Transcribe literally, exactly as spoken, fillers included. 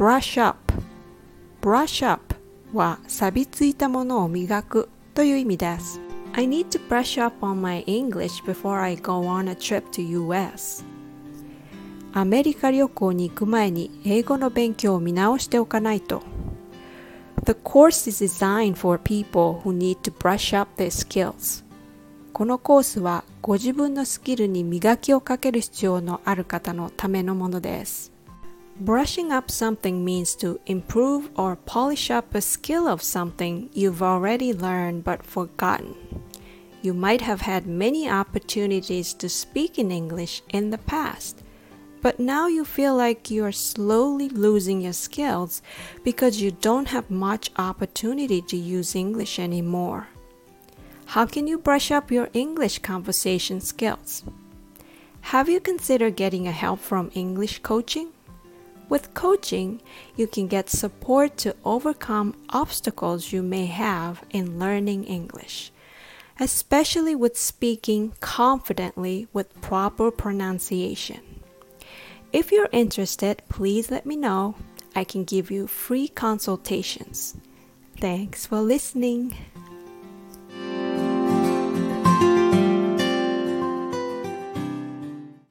brush up brush up は錆びついたものを磨くという意味です。I need to brush up on my English before I go on a trip to ユーエス アメリカ旅行に行く前に英語の勉強を見直しておかないと。The course is designed for people who need to brush up their skills. このコースはご自分のスキルに磨きをかける必要のある方のためのものです。Brushing up something means to improve or polish up a skill of something you've already learned but forgotten. You might have had many opportunities to speak in English in the past, but now you feel like you're slowly losing your skills because you don't have much opportunity to use English anymore. How can you brush up your English conversation skills? Have you considered getting a help from English coaching?With coaching, you can get support to overcome obstacles you may have in learning English, especially with speaking confidently with proper pronunciation. If you're interested, please let me know. I can give you free consultations. Thanks for listening.